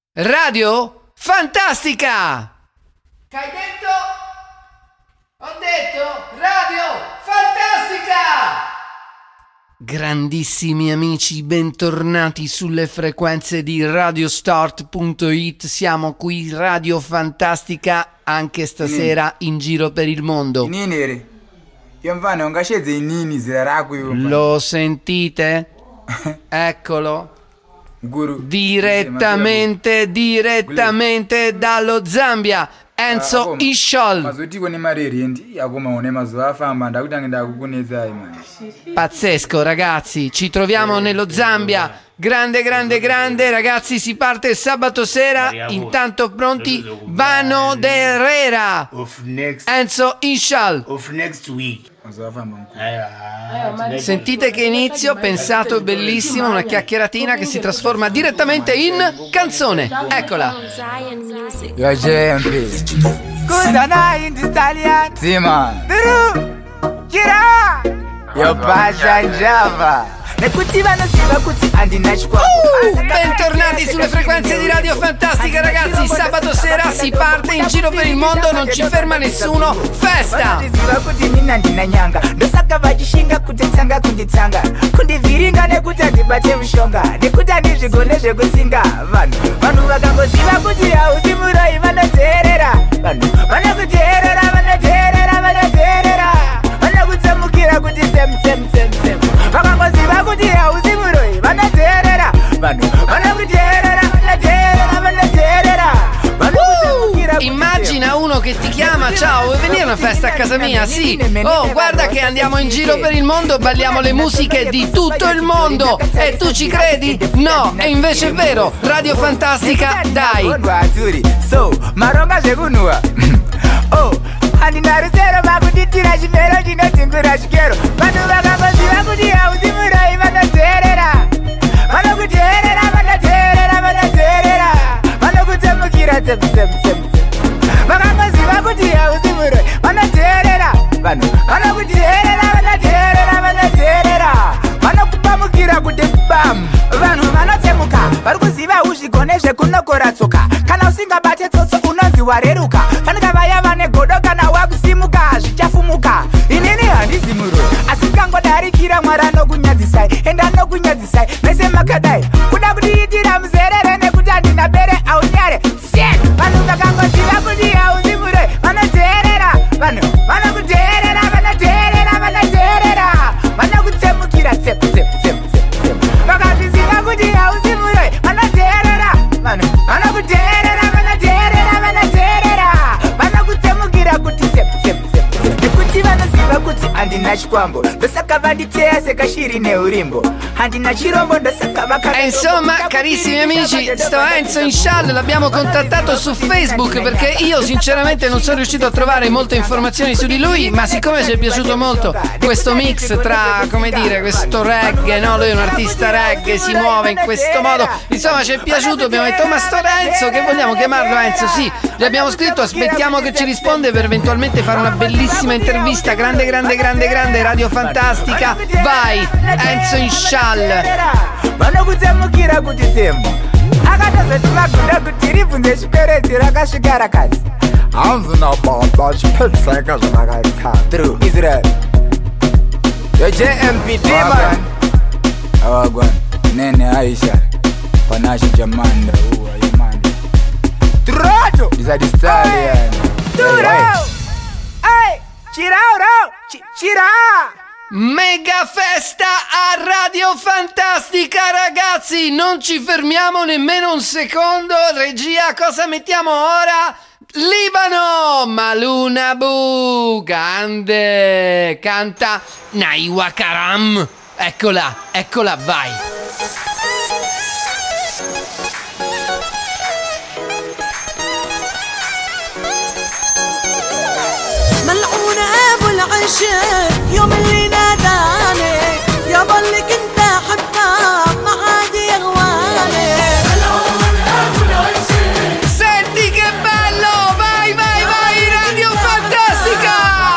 Radio Fantastica! Che hai detto? Ho detto Radio Fantastica! Grandissimi amici, bentornati sulle frequenze di radiostart.it. Siamo qui, Radio Fantastica, anche stasera in giro per il mondo. Lo sentite? Eccolo. Direttamente dallo Zambia, Enzo Ishol. Pazzesco, ragazzi, ci troviamo nello Zambia. Grande, ragazzi, si parte sabato sera. Intanto pronti, Vano Herrera, Enzo Ishol. Sentite che inizio pensato, bellissimo, una chiacchieratina che si trasforma direttamente in canzone. Eccola. Yo JMP. Kuzana in Italian. Zima. Kira. Yo Pasha Java. Bentornati sulle frequenze di Radio Fantastica, ragazzi. Sabato sera si parte in giro per il mondo, non ci ferma nessuno. Festa! Immagina uno che ti chiama: ciao, vuoi venire a una festa a casa mia? Sì. Oh, guarda che andiamo in giro per il mondo, balliamo le musiche di tutto il mondo. E tu ci credi? No, e invece è vero. Radio Fantastica, dai. Andinarusero makuditira chimero chinotingura chikero vanhu vakangoziva kuti hausimuroi vanoteerera vanokutsemukira tsemutsemutsemutse vakangoziva kuti hausimuroi vanoteerera vanhu vanoteerera vanokupamukira kuti bam vanhu vanotsemuka vari kuziva uzvigone zvekunokora tsoka kana usingabate tsotso unonzi wareruka fanika vaya vane godo kana wakusimuka zvichafumuka inini handizi muroi asi kangodarikira mwari anokunyadzisai ende anokunyadzisai mese makadai kuda kutiitira muzerere nekuti handina bere aunyare set vanhu vakangoziva kuti hauzi muroi vanoteerera vanhu vanokuteerera vanokutsemukira vakazviziva kuti hauzi muroi vanoteerera vanhu vanokuteerera vanokutsemukira kuti nekuti vanoziva kuti handina chikwambo ndosaka vanditeya sekashiri neurimbo handina chirombo ndosaka insomma, carissimi amici, sto Enzo Ishol l'abbiamo contattato su Facebook perché io sinceramente non sono riuscito a trovare molte informazioni su di lui, ma siccome ci è piaciuto molto questo mix tra, come dire, questo reggae, no? Lui è un artista reggae, si muove in questo modo, insomma ci è piaciuto, abbiamo detto ma sto Enzo, che vogliamo chiamarlo Enzo? Sì, gli abbiamo scritto, aspettiamo che ci risponde per eventualmente fare una bellissima intervista. Grande Radio Fantastica, vai Enzo Ishol. vanokutsemukira kuti tsemo akatozoti magunda kuti ribvunze chikwereti rakasvika rakadzi hanzi nababa chipedzeka zvavakaitsa israel yojmpt man awagwan nene aisha panashi jamanda uayemanda troto disadistalian chira Mega festa a Radio Fantastica, ragazzi, non ci fermiamo nemmeno un secondo. Regia, cosa mettiamo ora? Libano, Maluna Bu, grande, canta Naiwa Karam. Eccola, vai. ملعونة أبو العشق يوم اللي ناداني يا ظلك انت حباب ما عاد يغواني ملعونة أبو العشق. Senti che bello, vai Radio Fantastica.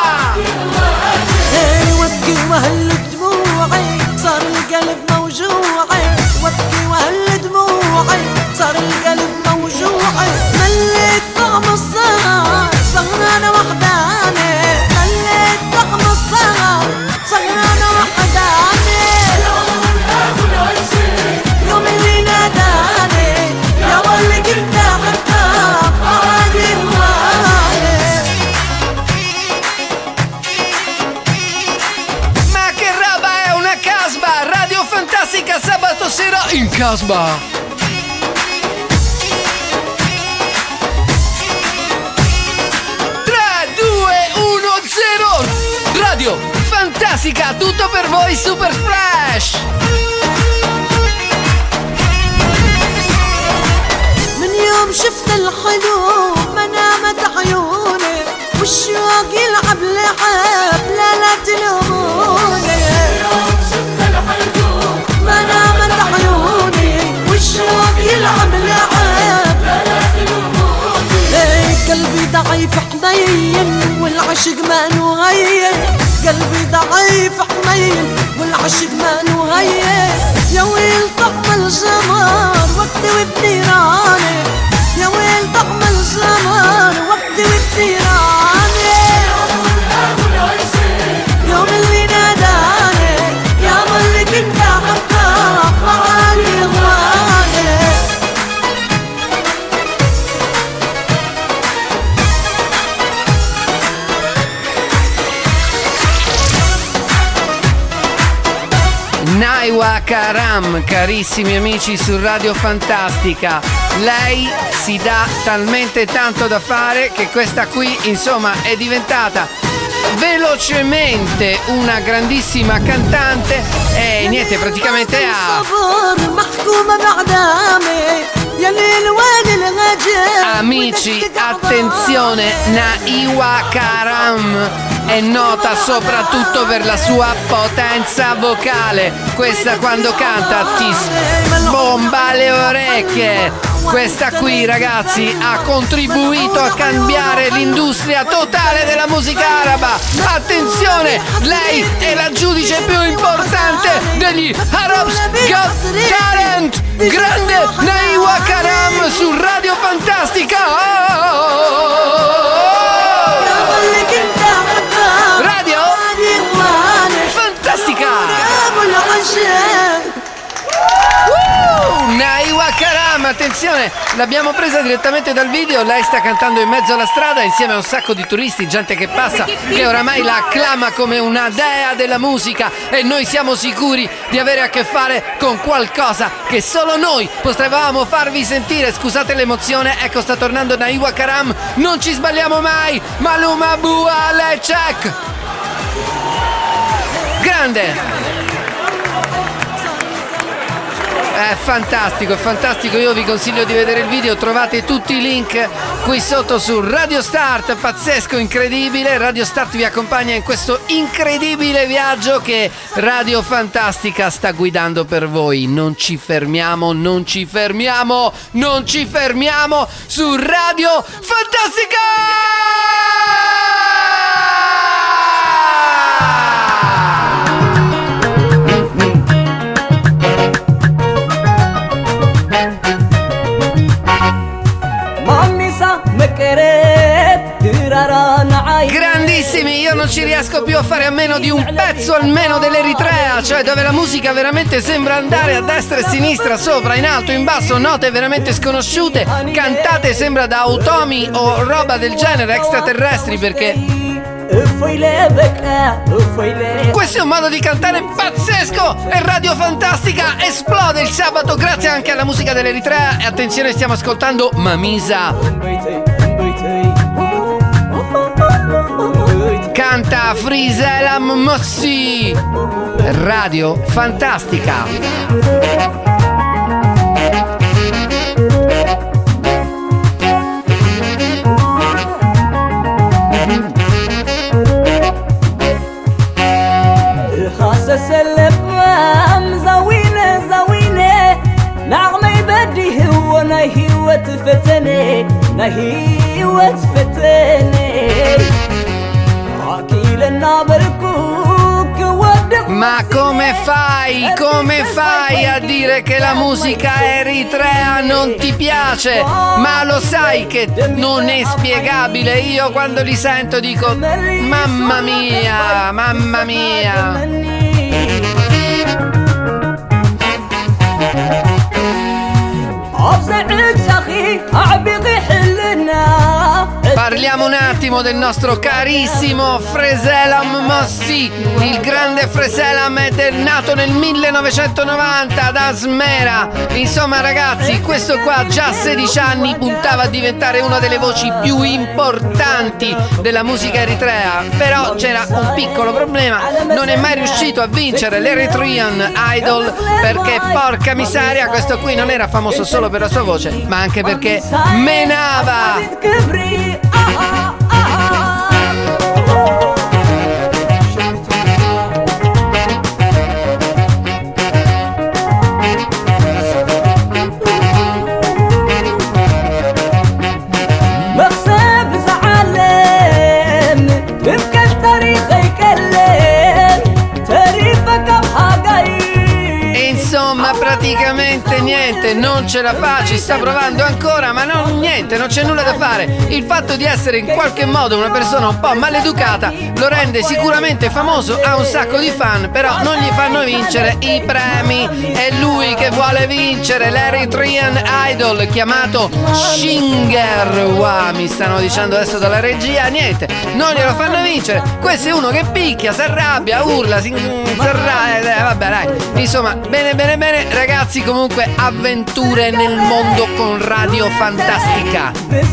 وابكي وهل دموعي صار القلب موجوعي وابكي وهل دموعي صار القلب موجوعي Casbah. 3, 2, 1, 0. Radio Fantastica, tutto per voi, Super Fresh. من يوم شفت الحلو ما نامت عيوني والشوق يلعب لعب لا تلوموني. يوم شفت الحلو ما نامت عيوني والشوق يلعب لعب لا تلوموني. قلبي ضعيف حنين والعشق ما نغير. قلبي ضعيف حنين والعشق ما نغير. يا ويل طعم الجمر وقتي وبنيراني. يا ويل طعم الجمر وقتي وبنيراني. يوم اللي ناداني يا ملك انت حبك معاني غواني. Naiwa Karam, carissimi amici su Radio Fantastica, lei si dà talmente tanto da fare che questa qui insomma è diventata velocemente una grandissima cantante e niente, praticamente ha amici, attenzione, Naiwa Karam è nota soprattutto per la sua potenza vocale. Questa quando canta ti sbomba le orecchie. Questa qui, ragazzi, ha contribuito a cambiare l'industria totale della musica araba. Attenzione, lei è la giudice più importante degli Arabs Got Talent. Grande Naiwa Karam su Radio Fantastica. Radio Fantastica. Naiwa Karam, attenzione, l'abbiamo presa direttamente dal video. Lei sta cantando in mezzo alla strada insieme a un sacco di turisti, gente che passa, che oramai la acclama come una dea della musica, e noi siamo sicuri di avere a che fare con qualcosa che solo noi potevamo farvi sentire. Scusate l'emozione, ecco sta tornando Naiwa Karam, non ci sbagliamo mai. Maluma Bua Lecek, grande. È fantastico, io vi consiglio di vedere il video, trovate tutti i link qui sotto su Radio Start, pazzesco, incredibile. Radio Start vi accompagna in questo incredibile viaggio che Radio Fantastica sta guidando per voi. Non ci fermiamo su Radio Fantastica! Grandissimi, io non ci riesco più a fare a meno di un pezzo almeno dell'Eritrea, cioè dove la musica veramente sembra andare a destra e a sinistra, sopra, in alto, in basso, note veramente sconosciute, cantate sembra da automi o roba del genere, extraterrestri, perché questo è un modo di cantare pazzesco e Radio Fantastica esplode il sabato grazie anche alla musica dell'Eritrea. E attenzione, stiamo ascoltando Mamisa, canta Friselam Mossi. Radio Fantastica. Ma come fai a dire che la musica eritrea non ti piace? Ma lo sai che non è spiegabile. Io quando li sento dico mamma mia. Parliamo un attimo del nostro carissimo Freselam Mossi. Il grande Freselam è nato nel 1990 da Asmera. Insomma ragazzi, questo qua già a 16 anni puntava a diventare una delle voci più importanti della musica eritrea. Però c'era un piccolo problema: non è mai riuscito a vincere l'Eritrean Idol, perché porca miseria, questo qui non era famoso solo per la sua voce, ma anche perché menava. Insomma, praticamente niente, non ce la fa, ci sta provando ancora, ma non c'è nulla da fare. Il fatto di essere in qualche modo una persona un po' maleducata lo rende sicuramente famoso, ha un sacco di fan, però non gli fanno vincere i premi. È lui che vuole vincere l'Eritrean Idol, chiamato Shinger. Wow, mi stanno dicendo adesso dalla regia, niente, non glielo fanno vincere. Questo è uno che picchia, si arrabbia, urla, si arrabbia, vabbè dai. Insomma, bene ragazzi, comunque avventure nel mondo con Radio Fantastica.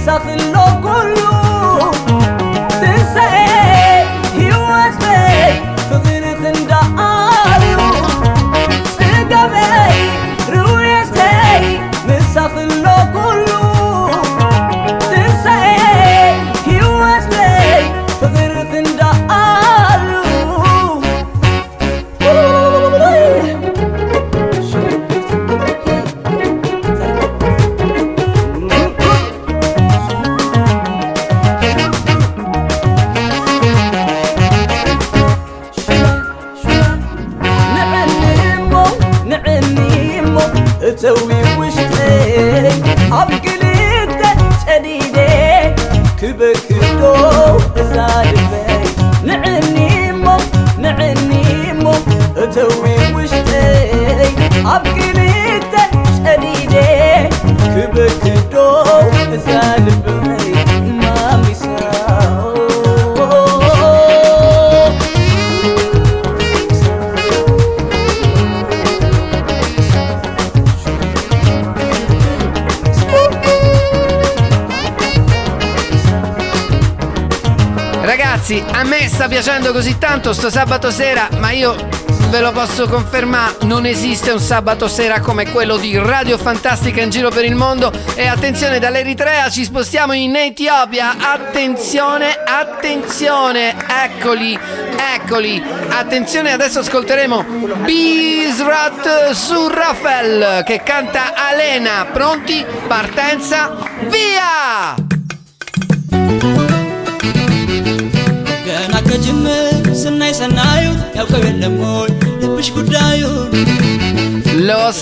Ragazzi, a me sta piacendo così tanto sto sabato sera, ma io ve lo posso confermare, non esiste un sabato sera come quello di Radio Fantastica in giro per il mondo. E attenzione, dall'Eritrea ci spostiamo in Etiopia. Attenzione, eccoli. Attenzione, adesso ascolteremo Bizrat Surrafel che canta Alena. Pronti? Partenza, via! Lo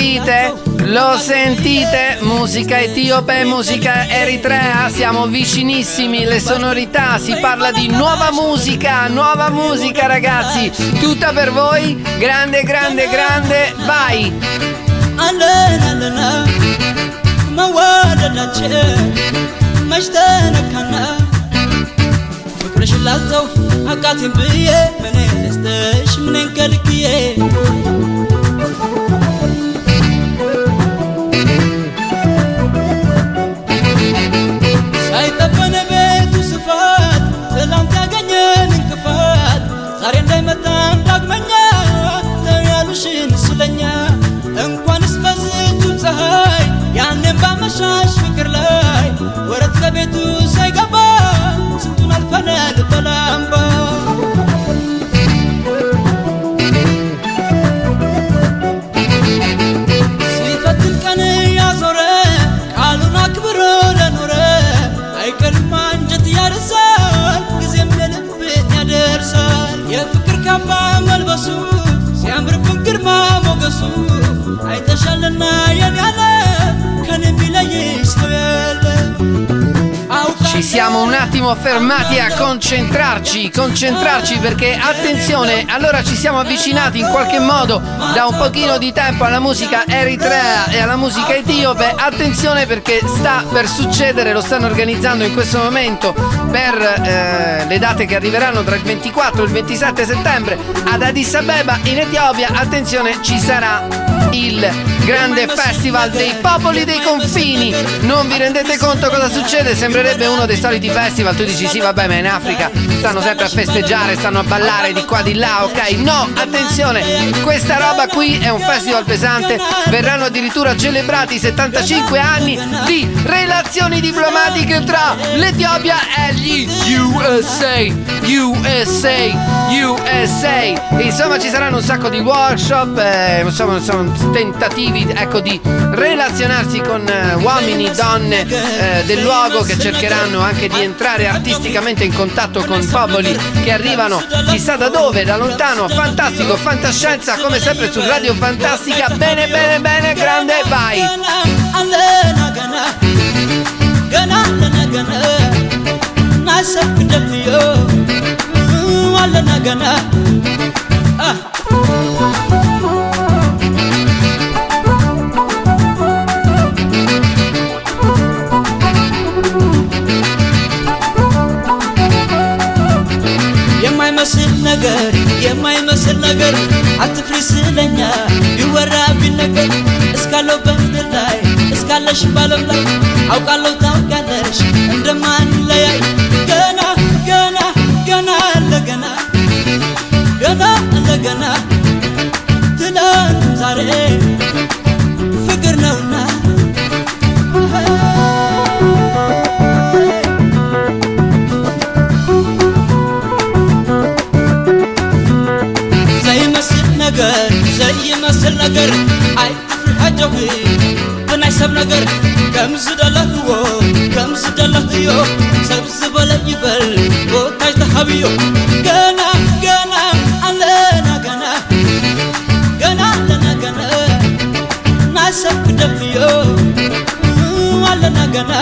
sentite? Musica etiope, musica eritrea, siamo vicinissimi, le sonorità, si parla di nuova musica ragazzi, tutta per voi, grande, vai! ሽላልተው አቃቴን ብዬ ምን ደስተሽ ምን ከልክዬ ሳይጠበነ ቤቱ ስፋት ትላንት ያገኘን እንቅፋት ዛሬ እንዳይመጣም ዳግመኛ ተያሉሽን ስለኛ እንኳንስ በዝቱ ፀሐይ ያንን ባመሻሽ ፍቅር ላይ ወረት ከቤቱ ሳይገባ ስንቱን አልፈናል በላምባ ሲፈትን ቀን ያዞረ ቃሉን አክብሮ ለኖረ አይቀርም አንጀት ያርሳል ጊዜም ለልብን ያደርሳል የፍቅር ካባ መልበሱ ሲያምርብን ግርማ ሞገሱ አይተሻልና የኔ ያለ ከኔ ቢለይሽ ነው ያለ አው siamo un attimo fermati a concentrarci perché attenzione, allora ci siamo avvicinati in qualche modo da un pochino di tempo alla musica eritrea e alla musica etiope. Attenzione perché sta per succedere, lo stanno organizzando in questo momento per le date che arriveranno tra il 24 e il 27 settembre ad Addis Abeba in Etiopia. Attenzione, ci sarà il grande festival dei popoli dei confini. Non vi rendete conto cosa succede? Sembrerebbe uno dei soliti festival. Tu dici sì vabbè, ma in Africa stanno sempre a festeggiare, stanno a ballare di qua di là, ok? No, attenzione, questa roba qui è un festival pesante. Verranno addirittura celebrati 75 anni di relazioni diplomatiche tra l'Etiopia e gli USA. Insomma ci saranno un sacco di workshop, insomma sono tentativi, ecco, di relazionarsi con uomini, donne del luogo, che cercheranno anche di entrare artisticamente in contatto con popoli che arrivano chissà da dove, da lontano. Fantastico, fantascienza come sempre su Radio Fantastica. Bene, grande, vai. የማይመስል ነገር አትፍሪ ስለኛ ይወራብኝ ነገር እስካለው በምድር ላይ እስካለሽ ባለም ላይ አውቃለሁ ታውቃለሽ እንደማንለያይ ገና ለገና ትላንት ዛሬ ፍቅር ነውና زي مسل نجر أي حجوي بنحسب نجر كم زد الله يو سبز بلا يبل وتاج تحبيو جنا علينا جنا نحسب دبيو علينا جنا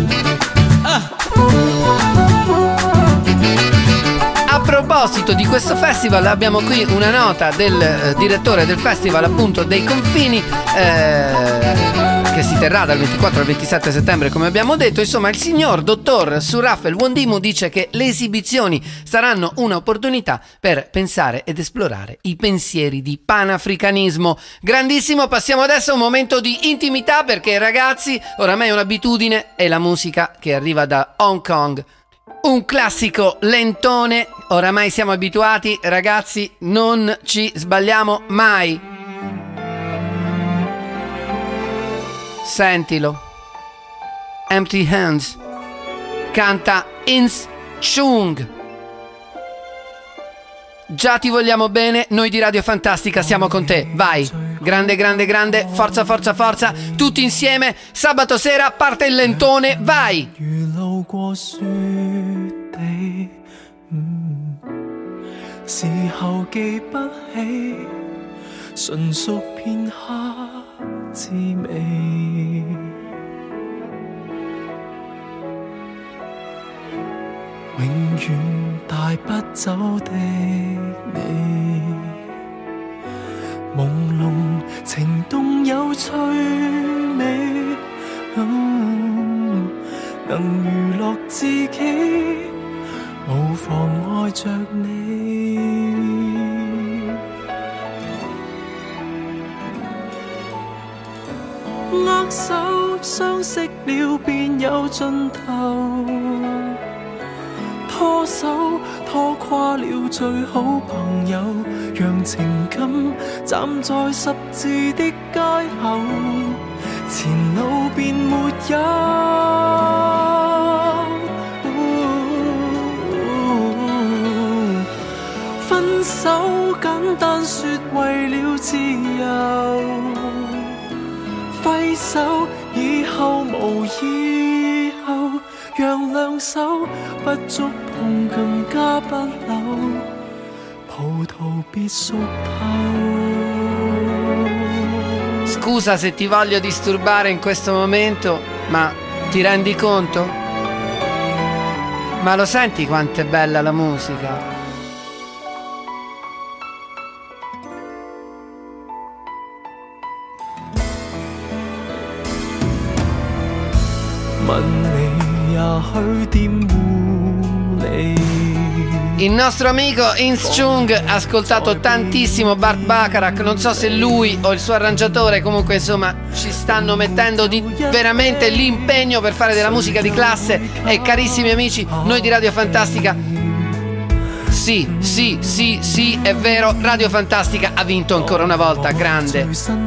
A proposito di questo festival abbiamo qui una nota del direttore del festival, appunto dei confini, che si terrà dal 24 al 27 settembre come abbiamo detto. Insomma, il signor dottor Surafel Wondimu dice che le esibizioni saranno un'opportunità per pensare ed esplorare i pensieri di panafricanismo. Grandissimo. Passiamo adesso a un momento di intimità perché ragazzi, oramai è un'abitudine, è la musica che arriva da Hong Kong. Un classico lentone, oramai siamo abituati, ragazzi, non ci sbagliamo mai. Sentilo. Empty Hands. Canta Ins Chung. Già ti vogliamo bene, noi di Radio Fantastica siamo con te, vai. Grande, forza, tutti insieme, sabato sera parte il lentone, vai. 時候記不起，純屬片刻滋味。永遠帶不走的你，朦朧情動有趣味，能娛樂自己。 無妨礙着你，握手相識了便有盡頭，拖手拖垮了最好朋友，讓情感站在十字的街口，前路便沒有。 分手簡單說為了自由，揮手以後無以後，讓兩手不觸碰更加不朽，葡萄別熟透。 Scusa se ti voglio disturbare in questo momento, ma ti rendi conto? Ma lo senti quanto è bella la musica? Il nostro amico Ins Chung ha ascoltato tantissimo Burt Bacharach, non so se lui o il suo arrangiatore, comunque insomma ci stanno mettendo veramente l'impegno per fare della musica di classe. E carissimi amici, noi di Radio Fantastica, sì, è vero, Radio Fantastica ha vinto ancora una volta, grande.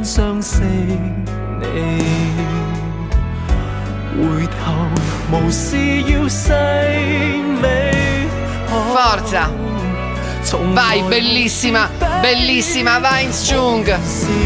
Forza! Vai, bellissima, bellissima, vai Ins Chung!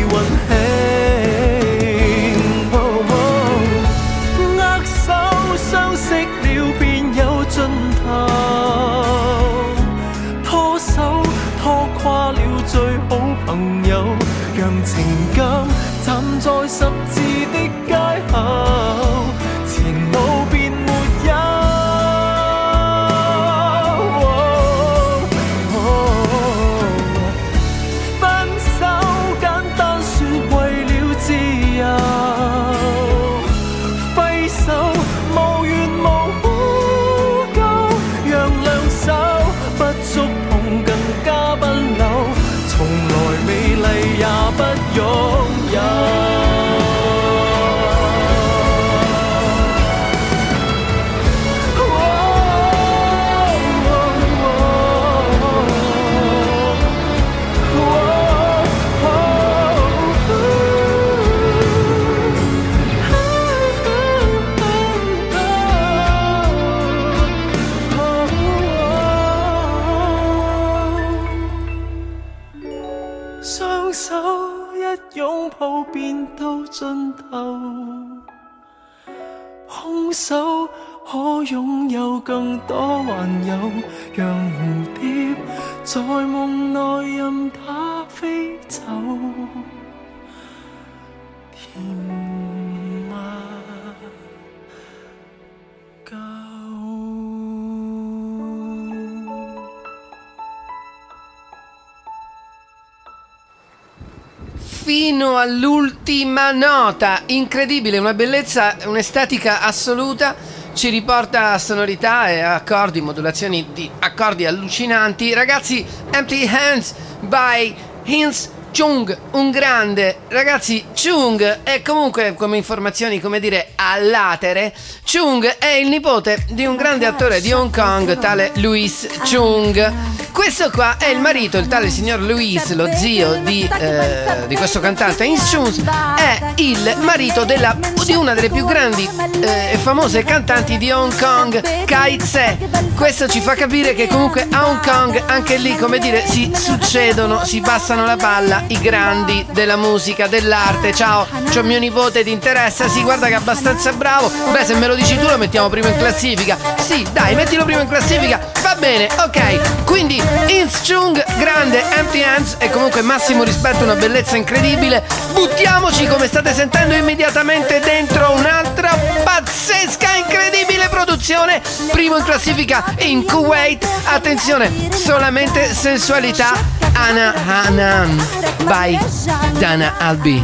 Fino all'ultima nota, incredibile, una bellezza, un'estetica assoluta, ci riporta a sonorità e accordi, modulazioni di accordi allucinanti. Ragazzi, Empty Hands by Ins Chung, un grande. Ragazzi, Chung è comunque, come informazioni, come dire, a latere, Chung è il nipote di un grande attore di Hong Kong, tale Louis Chung. Questo qua è il marito, il tale signor Louis, lo zio di questo cantante. Ins Chung è il marito di una delle più grandi e famose cantanti di Hong Kong, Kai Tse. Questo ci fa capire che comunque a Hong Kong, anche lì, come dire, si succedono, si passano la palla i grandi della musica, dell'arte. Ciao, c'ho mio nipote, ti interessa? Sì, guarda che è abbastanza bravo. Beh, se me lo dici tu lo mettiamo primo in classifica. Sì, dai, mettilo primo in classifica. Va bene, ok. Quindi Ins Chung, grande, Empty Hands, e comunque massimo rispetto, una bellezza incredibile. Buttiamoci, come state sentendo, immediatamente dentro un'altra pazzesca, incredibile produzione. Primo in classifica in Kuwait. Attenzione, solamente sensualità. Ana Hanan by Dana Albi.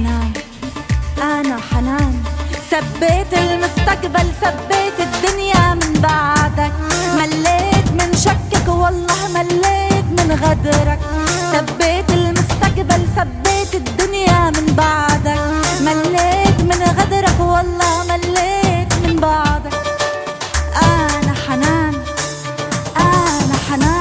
أنا حنان ثبت المستقبل ثبت الدنيا من بعدك مليت من شكك والله مليت من غدرك ثبت المستقبل ثبت الدنيا من بعدك مليت من غدرك والله مليت من بعدك أنا حنان أنا حنان.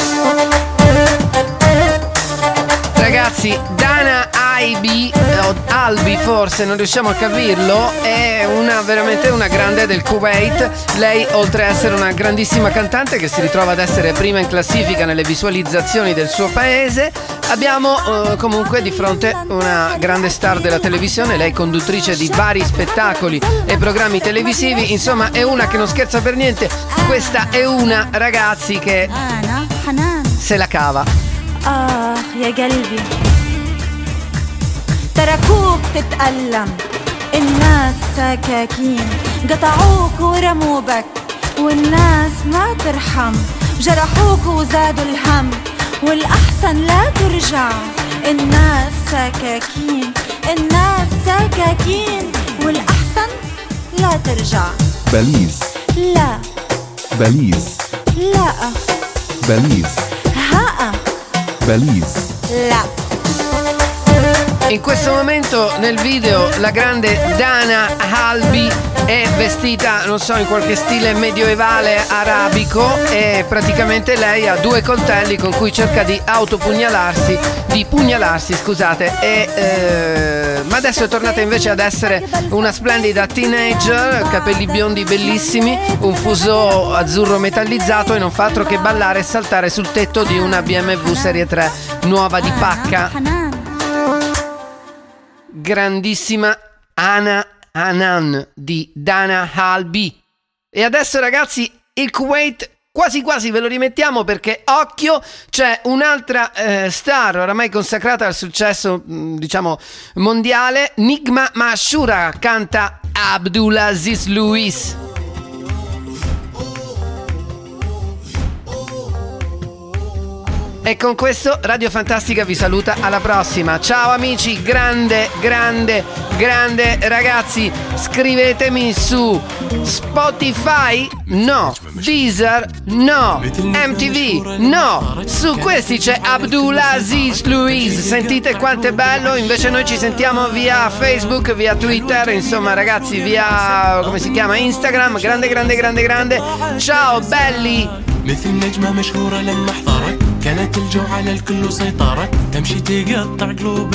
Ragazzi, Dana Albi, forse non riusciamo a capirlo, è veramente una grande del Kuwait. Lei, oltre a essere una grandissima cantante che si ritrova ad essere prima in classifica nelle visualizzazioni del suo paese, abbiamo comunque di fronte una grande star della televisione. Lei conduttrice di vari spettacoli e programmi televisivi, insomma è una che non scherza per niente. Questa è una, ragazzi, che se la cava. يا قلبي تركوك تتألم الناس سكاكين قطعوك ورموا بك والناس ما ترحم، جرحوك وزادوا الهم، والأحسن لا ترجع. الناس سكاكين، الناس سكاكين، والأحسن لا ترجع. بليز، لا بليز، لا بليز، ها بليز. لا. In questo momento nel video la grande Dana Albi è vestita, non so, in qualche stile medioevale arabico, e praticamente lei ha due coltelli con cui cerca di pugnalarsi, scusate, ma adesso è tornata invece ad essere una splendida teenager, capelli biondi bellissimi, un fuso azzurro metallizzato, e non fa altro che ballare e saltare sul tetto di una BMW Serie 3 nuova di pacca. Grandissima Ana Hanan di Dana Albi. E adesso, ragazzi, il Kuwait quasi quasi ve lo rimettiamo, perché occhio, c'è un'altra star oramai consacrata al successo diciamo mondiale. Nigma Mashura canta Abdulaziz Luiz. E con questo Radio Fantastica vi saluta, alla prossima. Ciao amici, grande ragazzi, scrivetemi su Spotify, no, Deezer, no, MTV, no, su questi c'è Abdulaziz Luiz, sentite quanto è bello. Invece noi ci sentiamo via Facebook, via Twitter, insomma ragazzi, via, come si chiama, Instagram. Grande, ciao belli. مثل نجمة مشهورة لما احضرت كانت الجو على الكل وسيطرت تمشي تقطع قلوب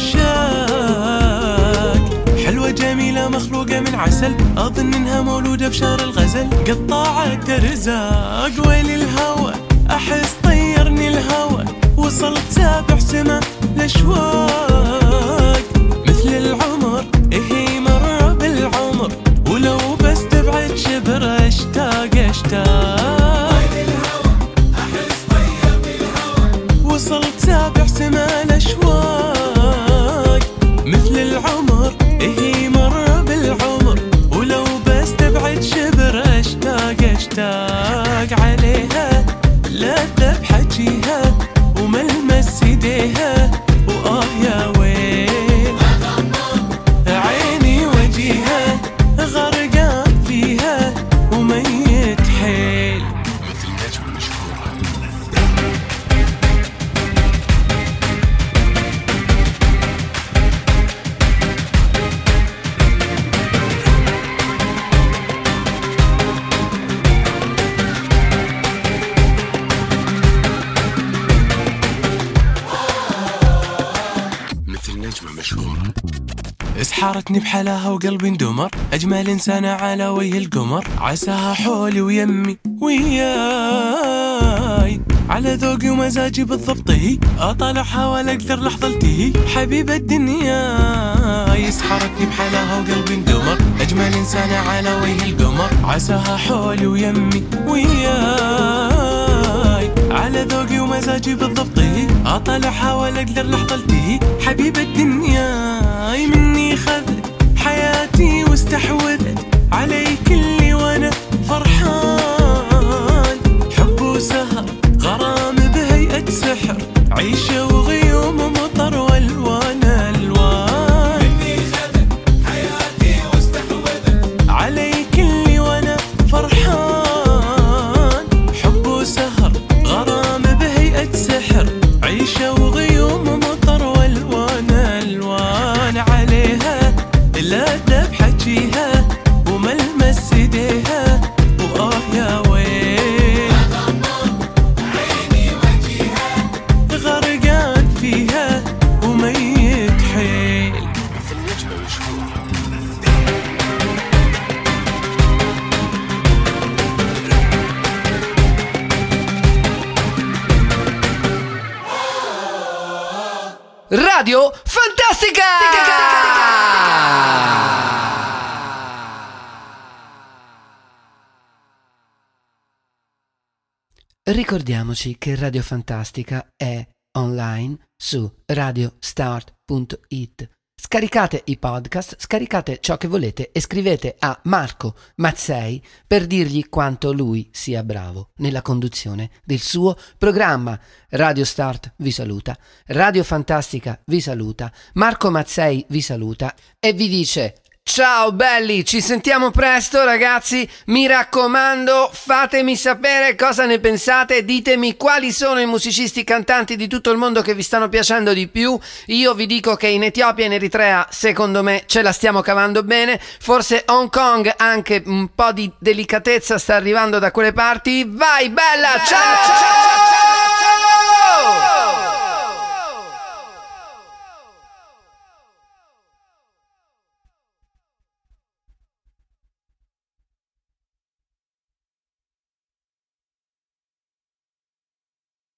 العشاق حلوة جميلة مخلوقة من عسل أظن إنها مولودة بشهر الغزل قطاعة رزاق ويل الهوى أحس طيرني الهوى وصلت سابع سما الأشواق مثل العمر إيه مر بالعمر ولو بس تبعد شبر أشتاق وصلت سابع سما الأشواق مثل العمر إيه مر بالعمر ولو بس تبعد شبر أشتاق عليها لا بحكيها وملمس يديها وآه يا ويل عيني وجيها غرقان فيها وميت حيل مثل نجم مشهورة. اسحرتني بحلاها وقلبي اندمر أجمل إنسانة على وجه القمر عساها حولي ويمي وياي على ذوقي ومزاجي بالضبط هي أطالعها ولا أقدر لحظة التهي حبيبة الدنيا اسحرتني بحلاها وقلبي اندمر أجمل إنسانة على وجه القمر عساها حولي ويمي وياي على ذوقي ومزاجي بالضبط هي أطالعها ولا أقدر لحظة التهي حبيبة الدنيا مني خذت حياتي واستحوذت علي كلي وانا فرحان حب وسهر غرام بهيئة سحر عيشة وغيوم مطر والوان الوان مني خذت حياتي واستحوذت علي كلي وانا فرحان حب وسهر غرام بهيئة سحر عيشة وغيوم مطر والوان الوان عليها لا بحكيها وملمس يديها وآه يا ويل عيني وجيها غرقان فيها وميت حيل مثل نجمة مشهورة. Radio Fantastica! Ricordiamoci che Radio Fantastica è online su radiostart.it Scaricate i podcast, scaricate ciò che volete e scrivete a Marco Mazzei per dirgli quanto lui sia bravo nella conduzione del suo programma. Radio Start vi saluta, Radio Fantastica vi saluta, Marco Mazzei vi saluta e vi dice: ciao belli, ci sentiamo presto ragazzi, mi raccomando fatemi sapere cosa ne pensate, ditemi quali sono i musicisti cantanti di tutto il mondo che vi stanno piacendo di più. Io vi dico che in Etiopia e in Eritrea secondo me ce la stiamo cavando bene, forse Hong Kong anche un po' di delicatezza sta arrivando da quelle parti. Vai bella, ciao!